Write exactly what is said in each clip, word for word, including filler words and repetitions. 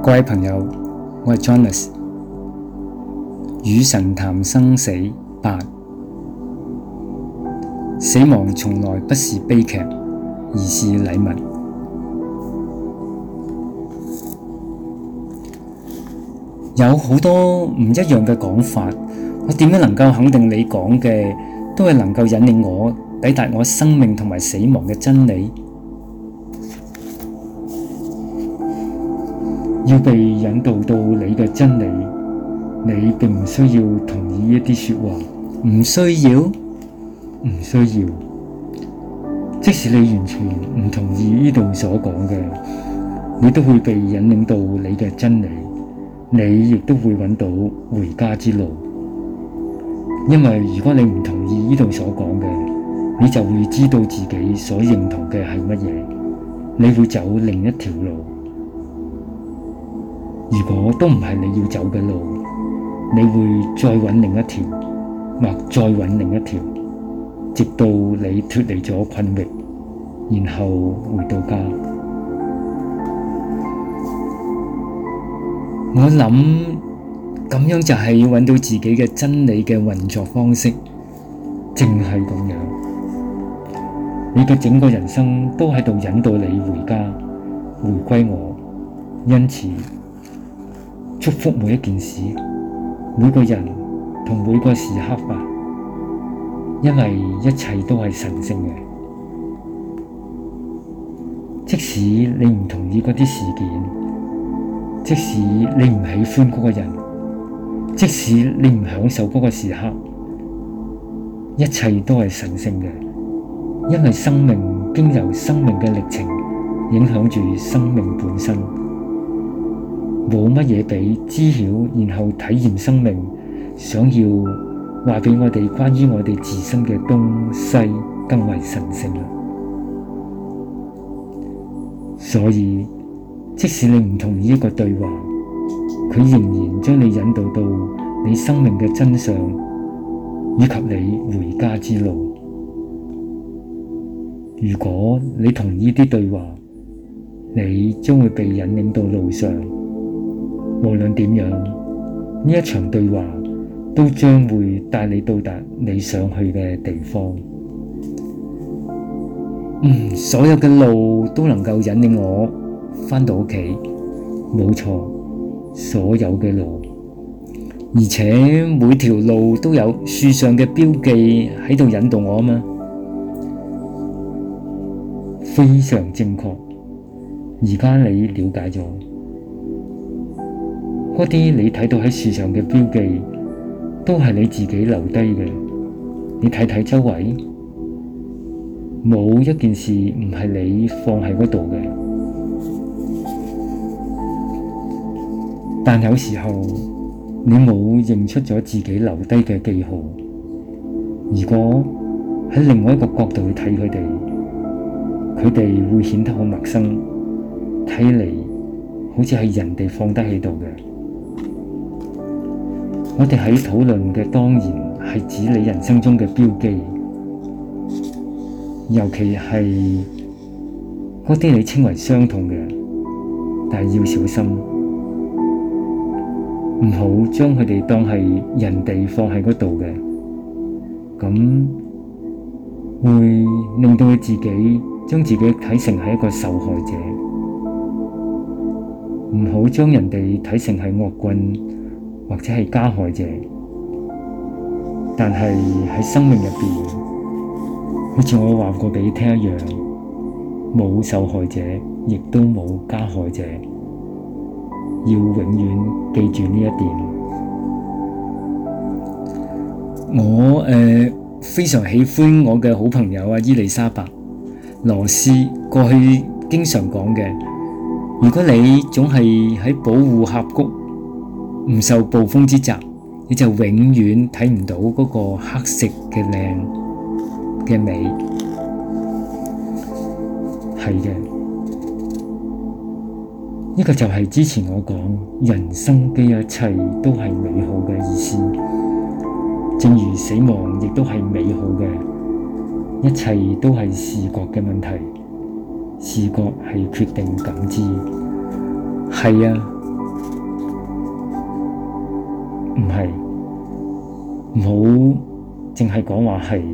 各位朋友，我係 Jonas， 與神談生死八。死亡從來不是悲劇，而是禮物。有好多唔一樣嘅講法，我點樣能夠肯定你講嘅都係能夠引領我抵達我生命同埋死亡嘅真理？要被引導到你嘅真理，你並唔需要同意一啲說話，唔需要，唔需要。即使你完全唔同意呢度所講嘅，你都會被引領到你嘅真理，你亦都會揾到回家之路。因為如果你唔同意呢度所講嘅，你就會知道自己所認同嘅係乜嘢，你會走另一條路。如果都唔係你要走嘅路，你會再揾另一條，或再揾另一條，直到你脫離咗困域，然後回到家。我諗咁樣就係要揾到自己嘅真理嘅運作方式，淨係咁樣，你嘅整個人生都喺度引導你回家，回歸我。因此祝福每一件事，每個人同每個時刻吧，因為一切都係神聖嘅。即使你唔同意嗰啲事件，即使你唔喜歡嗰個人，即使你唔享受嗰個時刻，一切都係神聖嘅，因為生命經由生命嘅歷程影響住生命本身。冇乜嘢比知曉然後體驗生命，想要話俾我哋關於我哋自身嘅東西更為神聖啦。所以即使你唔同意一個對話，佢仍然將你引導到你生命嘅真相，以及你回家之路。如果你同意啲對話，你將會被引領到路上。無論點樣，呢一場對話都將會帶你到達你想去嘅地方。嗯，所有嘅路都能夠引領我返到屋企，冇錯，所有嘅路，而且每條路都有樹上嘅標記喺度引導我啊嘛，非常正確。而家你了解咗。嗰啲你睇到喺樹上嘅標記，都係你自己留低嘅。你睇睇周圍，冇一件事唔係你放喺嗰度嘅。但有時候你冇認出咗自己留低嘅記號。如果喺另外一個角度去睇佢哋，佢哋會顯得好陌生，睇嚟好似係人哋放得喺度嘅。我哋喺討論嘅當然係指你人生中嘅標記，尤其係嗰啲你稱為傷痛嘅，但係要小心，唔好將佢哋當係人哋放喺嗰度嘅，咁會令到你自己將自己睇成係一個受害者，唔好將人哋睇成係惡棍，或者係加害者，但係喺生命入邊，好似我話過俾你聽一樣，冇受害者，亦都冇加害者，要永遠記住呢一點。我誒、呃、非常喜歡我嘅好朋友啊伊麗莎白羅斯過去經常講嘅，如果你總係喺保護峽谷，唔受暴風之襲，你就永遠睇唔到嗰個黑色嘅靚嘅美。係嘅，呢個就係之前我講人生嘅一切都係美好嘅意思。正如死亡亦都係美好嘅，一切都係視覺嘅問題，視覺係決定感知。係啊。 唔係，唔好淨係講話係，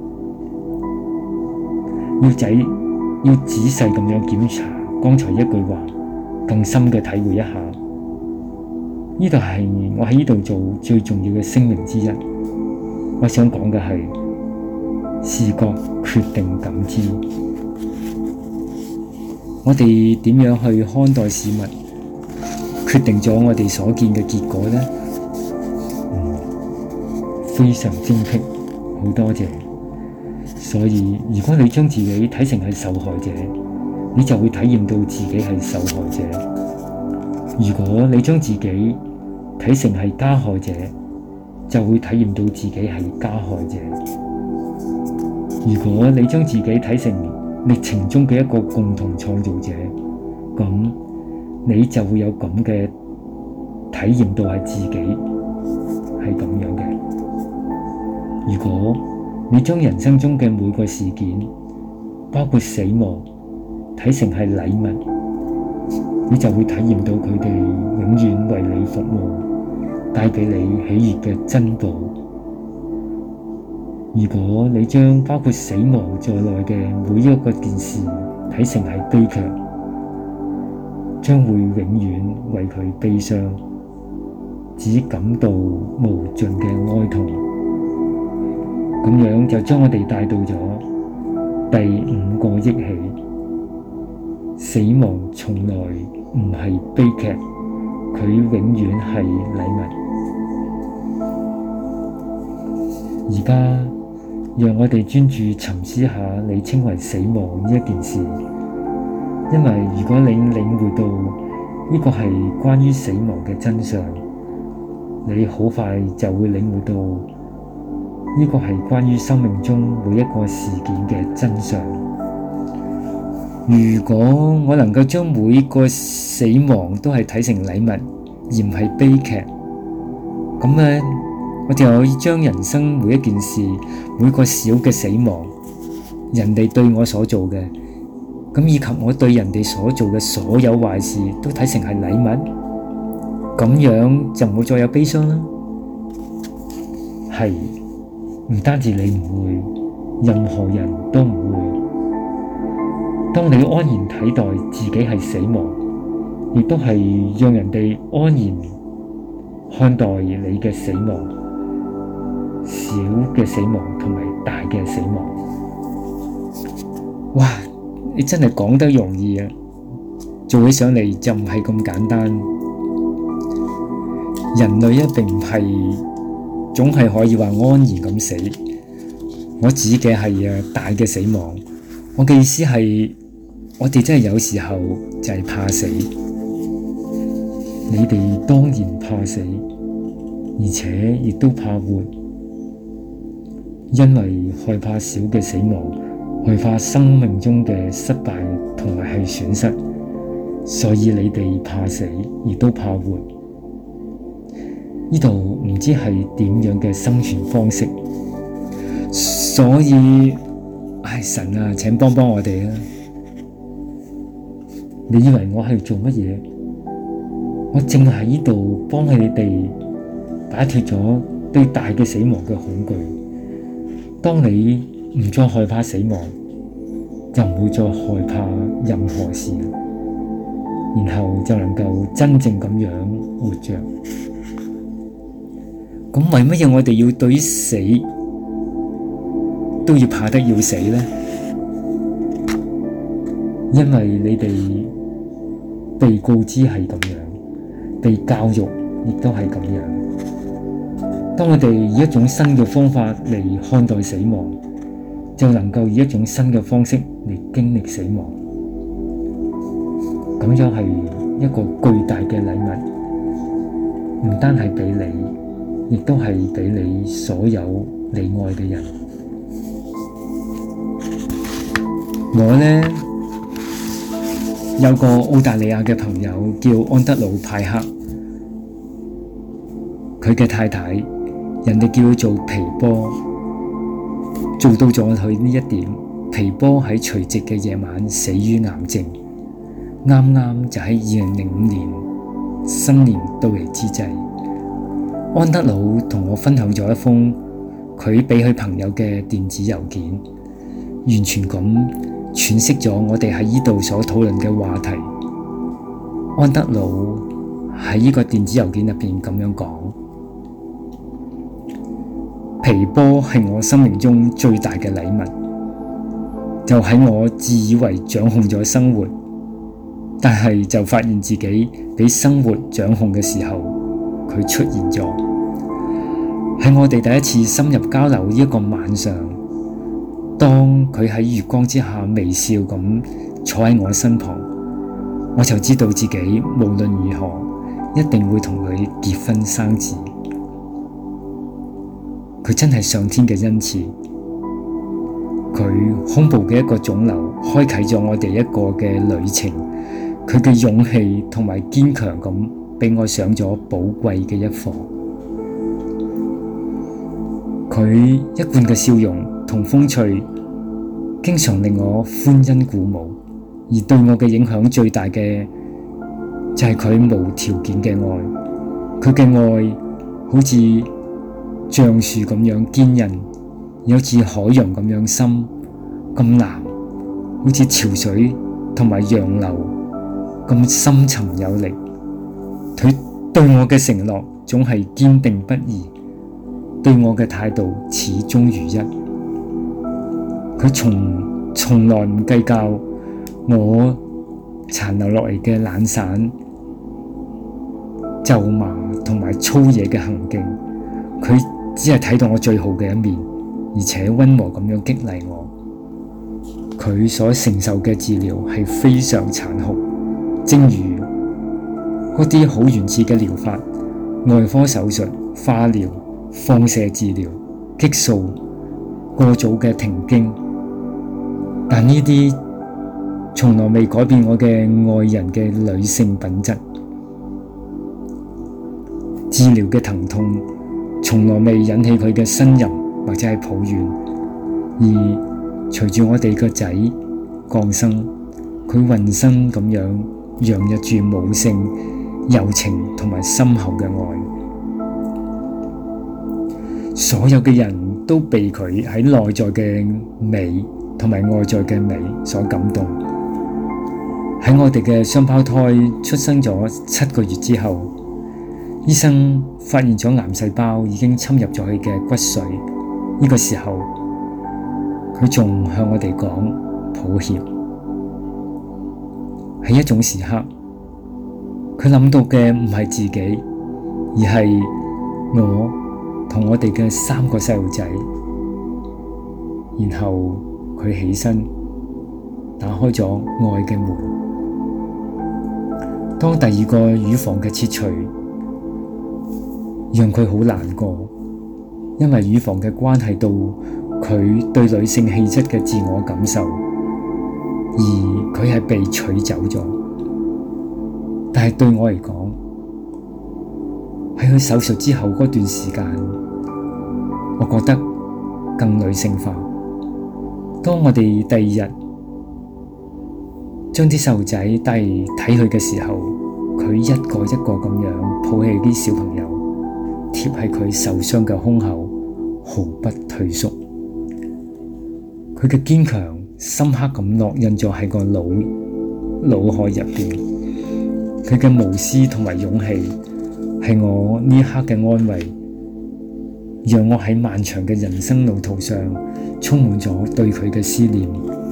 要仔要仔細咁樣檢查剛才一句話，更深嘅體會一下。呢度係我喺呢度做最重要嘅聲明之一。我想講嘅係視覺決定感知。我哋點樣去看待事物，決定咗我哋所見嘅結果呢？嗯，非常精闢，好多謝。所以如果你將自己睇成係受害者，你就會體驗到自己係受害者；如果你將自己睇成係加害者，就會體驗到自己係加害者；如果你將自己睇成歷程中嘅一個共同創造者，咁你就會有咁嘅體驗到係自己係咁樣嘅。如果你將人生中嘅每個事件，包括死亡，睇成係禮物，你就會體驗到佢哋永遠為你服務，帶俾你喜悅嘅珍寶。如果你將包括死亡在內嘅每一個件事睇成係悲劇，將會永遠為佢悲傷，只感到無盡嘅哀痛。咁樣就將我哋帶到咗第五個憶起：死亡從來唔係悲劇，佢永遠係禮物。而家讓我哋專注沉思下你稱為死亡呢一件事，因為如果你領會到呢個係關於死亡嘅真相，你好快就會領會到呢個係關於生命中每一個事件嘅真相。如果我能夠將每個死亡都係睇成禮物，而唔係悲劇，咁咧我就可以將人生每一件事，每個小嘅死亡，人哋對我所做嘅，咁以及我對人哋所做嘅所有壞事，都睇成係禮物，咁樣就唔會再有悲傷啦。係，唔單止你唔會，任何人都唔會。當你安然睇待自己係死亡，亦都係讓人哋安然看待你嘅死亡，小嘅死亡同埋大嘅死亡。哇！你真係講得容易啊，做起上嚟就唔係咁簡單。人類一定唔係總係可以話安然咁死。我指嘅係啊大嘅死亡。我嘅意思係，我哋真係有時候就係怕死。你哋當然怕死，而且亦都怕活，因為害怕小嘅死亡，害怕生命中嘅失敗同埋係損失，所以你哋怕死，亦都怕活。呢度唔知係點樣嘅生存方式，所以，唉，神啊，請幫幫我哋啊！你以為我係做乜嘢？我正喺呢度幫你哋擺脫咗對大嘅死亡嘅恐懼。當你唔再害怕死亡，就唔會再害怕任何事，然後就能夠真正咁樣活着。咁為乜嘢我哋要對死都要怕得要死呢？因為你哋被告知係咁樣，被教育亦都係咁樣。當我哋以一種新嘅方法嚟看待死亡，就能夠以一種新嘅方式嚟經歷死亡。咁樣係一個巨大嘅禮物，唔單係俾你，亦都係俾你所有你愛嘅人。我呢，有個澳大利亞嘅朋友叫安德魯派克，佢嘅太太，人哋叫佢做皮波，做到咗佢呢一點。皮波喺除夕嘅夜晚死於癌症，啱啱就喺二零零五年新年到嚟之際， 安德魯同我分享咗一封佢俾佢朋友嘅電子郵件，完全咁詮釋咗我哋喺呢度所討論嘅話題。安德魯喺呢個電子郵件入邊咁樣講：皮波係我生命中最大嘅禮物，就喺我自以為掌控咗生活，但係就發現自己俾生活掌控嘅時候，佢出現咗。喺我哋第一次深入交流呢一個晚上，當佢喺月光之下微笑咁坐喺我身旁，我就知道自己無論如何一定會同佢結婚生子。佢真係上天嘅恩賜，佢胸部嘅一個腫瘤開啟咗我哋一個嘅旅程，佢嘅勇氣同埋堅強咁俾我上咗寶貴嘅一課。佢一貫嘅笑容同風趣經常令我歡欣鼓舞，而對我嘅影響最大嘅就係佢無條件嘅愛。佢嘅愛好似橡樹咁樣堅韌，有似海洋咁樣深咁藍，好似潮水同埋洋流咁深沉有力。佢對我嘅承諾總係堅定不移，對我嘅態度始終如一。佢從從來唔計較我殘留落嚟嘅懶散、咒罵同埋粗野嘅行徑，佢只係睇到我最好嘅一面，而且溫和咁樣激勵我。佢所承受嘅治療係非常殘酷，正如嗰啲好原始嘅療法，外科手術、化療、放射治療、激素、過早嘅停經，但呢啲從來未改變我嘅愛人嘅女性品質。治療嘅疼痛從來未引起佢嘅呻吟或者係抱怨，而隨住我哋個仔降生，佢渾身咁樣洋溢住母性、柔情同埋深厚嘅愛。所有嘅人都被佢喺內在嘅美同埋外在嘅美所感動。喺我哋嘅雙胞胎出生咗七個月之後，醫生發現咗癌細胞已經侵入咗佢嘅骨髓。呢個時候，佢仲向我哋講抱歉。喺一種時刻，佢諗到嘅唔係自己，而係我同我哋嘅三個細路仔。然後佢起身，打開咗愛嘅門。當第二個乳房嘅切除讓佢好難過，因為乳房嘅關係到佢對女性氣質嘅自我感受，而佢係被取走咗。但係對我嚟講，喺佢手術之後嗰段時間，我覺得更女性化。當我哋第二日將啲細路仔帶嚟睇佢嘅時候，佢一個一個咁樣抱起啲小朋友，貼喺佢受傷嘅胸口，毫不退縮。佢嘅堅強深刻咁烙印咗喺個腦腦海入邊。佢嘅無私同埋勇氣係我呢一刻嘅安慰，讓我喺漫長嘅人生路途上充滿咗對佢嘅思念。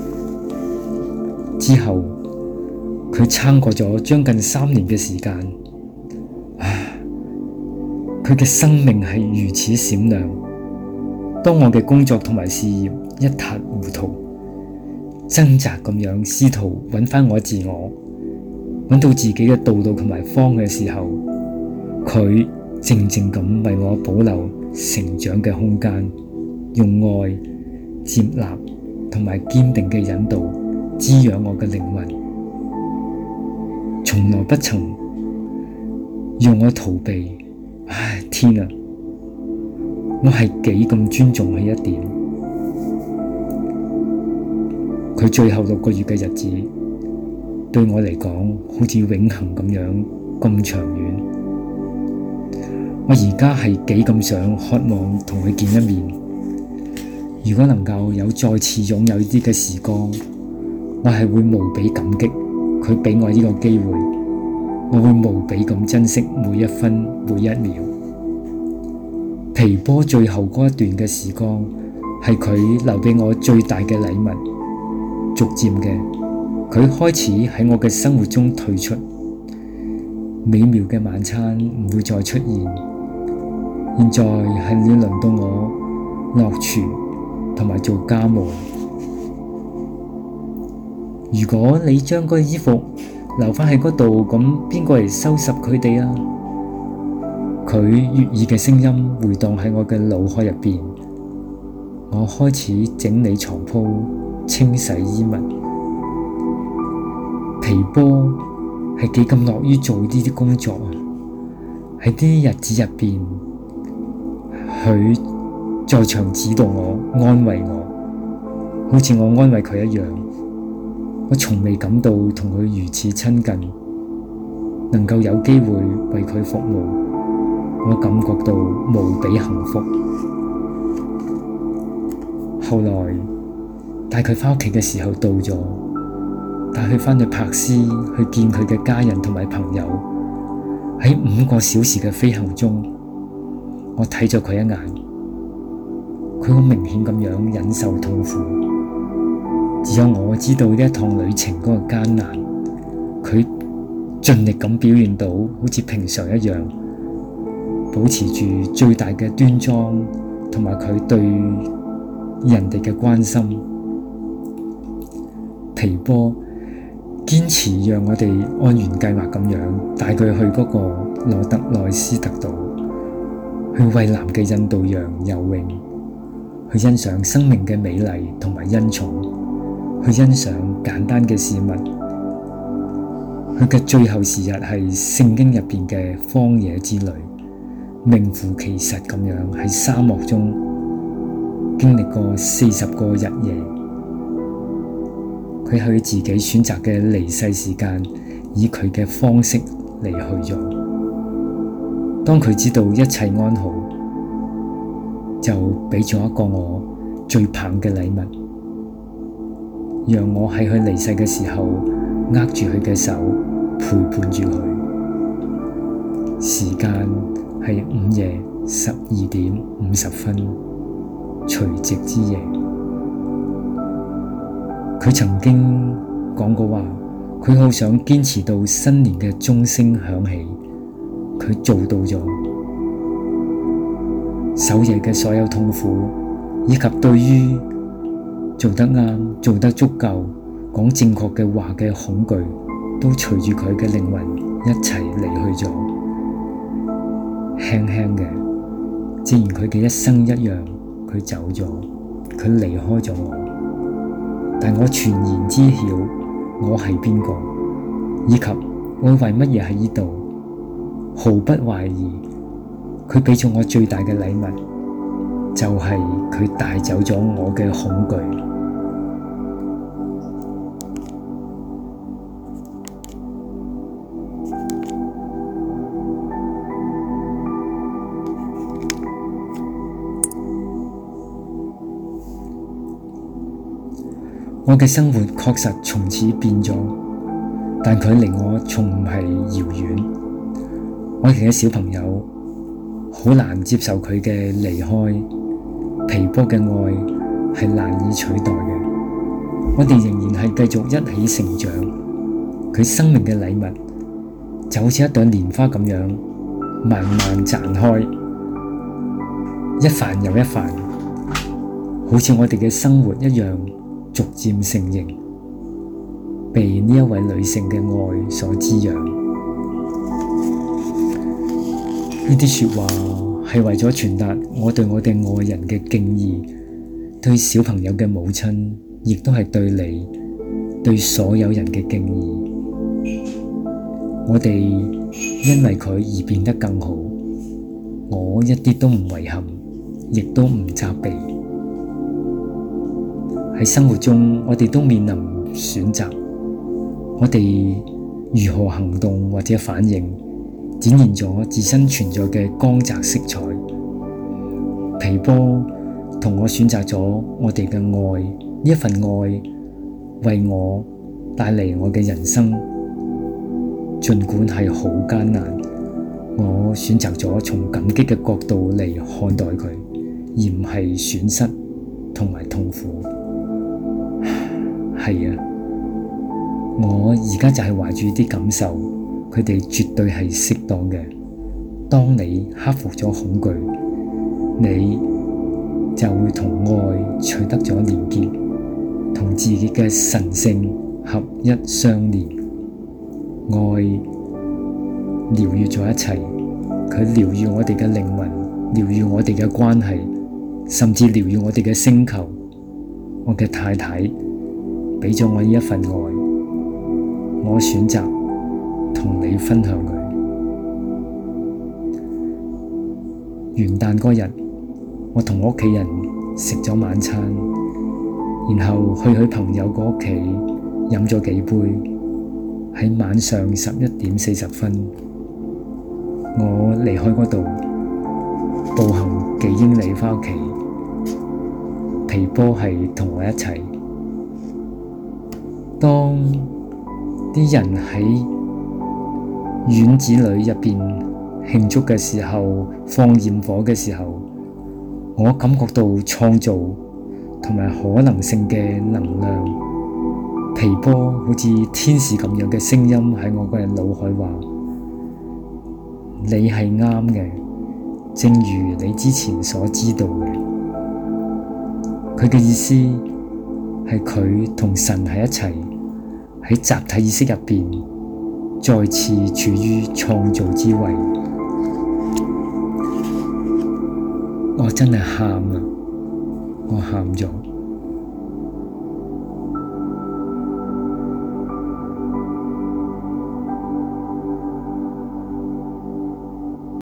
之後佢撐過咗將近三年嘅時間，唉，佢嘅生命係如此閃亮。當我嘅工作同埋事業一塌糊塗，掙扎咁樣試圖揾翻我自我，揾到自己嘅道路同埋方嘅時候，佢靜靜咁為我保留成長嘅空間，用愛、接納同埋堅定嘅引導滋養我嘅靈魂，從來不曾讓我逃避。唉，天啊！我係幾咁尊重佢一點。佢最後六個月嘅日子，對我嚟講好似永恆咁樣咁長遠。 我而家係幾咁想渴望同佢見一面。如果能夠有再次擁有呢啲嘅時光，我係會無比感激佢俾我呢個機會。我會無比咁珍惜每一分每一秒。皮波最後嗰一段嘅時光係佢留俾我最大嘅禮物。逐漸嘅，佢開始喺我嘅生活中退出。美妙嘅晚餐唔會再出現。現在係要輪到我落廚同埋做家務。如果你將嗰啲衣服留返喺嗰度，咁邊個嚟收拾佢哋啊？佢悅耳嘅聲音回盪喺我嘅腦海入邊。我開始整理床鋪，清洗衣物。皮波係幾咁樂於做呢啲工作啊！喺啲日子入邊，佢在場指導我、安慰我，好似我安慰佢一樣。我從未感到同佢如此親近，能夠有機會為佢服務，我感覺到無比幸福。後來帶佢返屋企嘅時候到咗，帶佢返去柏斯去見佢嘅家人同埋朋友。喺五個小時嘅飛行中，我睇咗佢一眼，佢好明顯咁樣忍受痛苦。只有我知道呢一趟旅程嗰個艱難，佢盡力咁表現到好似平常一樣，保持住最大嘅端莊同埋佢對人哋嘅關心。皮波堅持讓我哋按原計劃咁樣帶佢去嗰個羅特內斯特島，去蔚藍嘅印度洋游泳，去欣賞生命嘅美麗同埋恩寵，去欣賞簡單嘅事物。佢嘅最後時日係聖經入邊嘅荒野之旅，名副其實咁樣喺沙漠中經歷過四十個日夜。佢喺自己選擇嘅離世時間，以佢嘅方式離去咗。當佢知道一切安好，就俾咗一個我最棒嘅禮物，讓我喺佢離世嘅時候握住佢嘅手，陪伴住佢。時間係午夜十二點五十分，除夕之夜。佢曾經講過話，佢好想堅持到新年嘅鐘聲響起，佢做到咗。守夜嘅所有痛苦，以及對於做得啱、做得足夠、講正確嘅話嘅恐懼，都隨住佢嘅靈魂一齊離去咗。輕輕嘅，正如佢嘅一生一樣，佢走咗，佢離開咗我。但我全然知曉我係邊個，以及我為乜嘢喺呢度，毫不懷疑。佢俾咗我最大嘅禮物，就係佢帶走咗我嘅恐懼。我嘅生活確實從此變咗，但佢離我從唔係遙遠。我哋嘅小朋友好難接受佢嘅離開，皮波嘅愛係難以取代嘅。我哋仍然係繼續一起成長。佢生命嘅禮物就好似一朵蓮花咁樣慢慢綻開，一瓣又一瓣，好似我哋嘅生活一樣，逐漸成形，被呢一位女性嘅愛所滋養。呢啲說話係為咗傳達我對我哋愛人嘅敬意，對小朋友嘅母親，亦都係對你，對所有人嘅敬意。我哋因為佢而變得更好，我一啲都唔遺憾，亦都唔責備。喺生活中，我哋都面臨選擇，我哋如何行動或者反應， 展現咗自身存在嘅光澤色彩。皮波同我選擇咗我哋嘅愛，呢一份愛為我帶嚟我嘅人生，儘管係好艱難，我選擇咗從感激嘅角度嚟看待佢，而唔係損失同埋痛苦。係啊，我而家就係懷住啲感受，佢哋絕對係適當嘅。當你克服咗恐懼，你就會同愛取得咗連結，同自己嘅神性合一相連。愛療癒咗一切，佢療癒我哋嘅靈魂，療癒我哋嘅關係，甚至療癒我哋嘅星球。我嘅太太俾咗我呢一份愛，我選擇同你分享佢。元旦嗰日，我同我屋企人食咗晚餐，然後去佢朋友個屋企飲咗幾杯。喺晚上十一點四十分，我離開嗰度，步行幾英里返屋企。皮波係同我一齊。當啲人喺院子裏入邊慶祝嘅時候，放焰火嘅時候，我感覺到創造同埋可能性嘅能量。皮波好似天使咁樣嘅聲音喺我嘅腦海話：你係啱嘅，正如你之前所知道嘅。佢嘅意思係佢同神喺一齊，喺集體意識入邊再次處於創造之位。我真係喊啊！我喊咗。